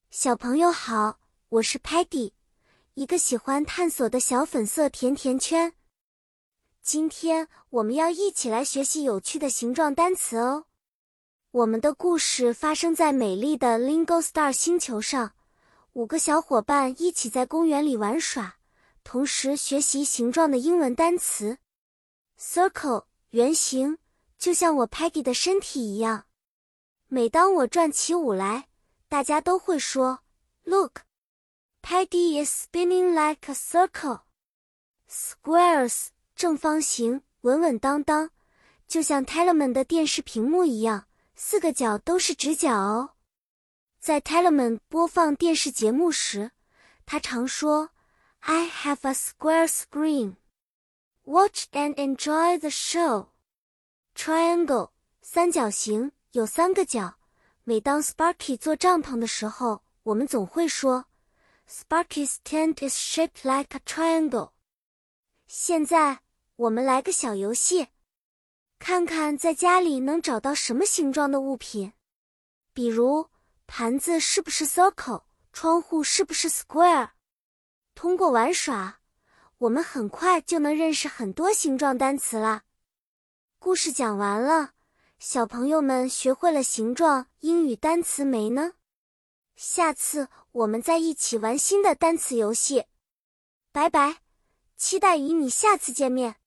小朋友好，我是 Patty， 一个喜欢探索的小粉色甜甜圈。今天我们要一起来学习有趣的形状单词哦。我们的故事发生在美丽的 Lingo Star 星球上，5个小伙伴一起在公园里玩耍，同时学习形状的英文单词。Circle 圆形，就像我 Patty 的身体一样。每当我转起舞来，大家都会说 Look, Patty is spinning like a circle. Squares 正方形，稳稳当当，就像 Telemann 的电视屏幕一样，4个角都是直角哦。在 Telemann 播放电视节目时，他常说 I have a square screen. Watch and enjoy the show. Triangle 三角形，有3个角。每当 Sparky 做帐篷的时候，我们总会说 Sparky's tent is shaped like a triangle. 现在我们来个小游戏，看看在家里能找到什么形状的物品。比如盘子是不是 circle， 窗户是不是 square。 通过玩耍，我们很快就能认识很多形状单词啦。故事讲完了，小朋友们学会了形状英语单词没呢？下次我们再一起玩新的单词游戏。拜拜，期待与你下次见面。